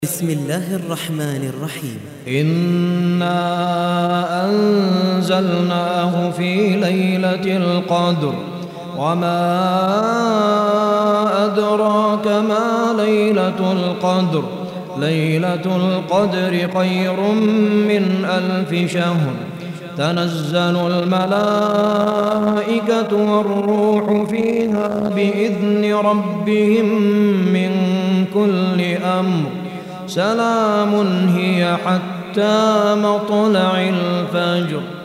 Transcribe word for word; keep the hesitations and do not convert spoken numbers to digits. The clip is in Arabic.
بسم الله الرحمن الرحيم. إنا أنزلناه في ليلة القدر وما أدراك ما ليلة القدر ليلة القدر خير من ألف شهر تنزل الملائكة والروح فيها بإذن ربهم من كل أمر سلام هي حتى مطلع الفجر.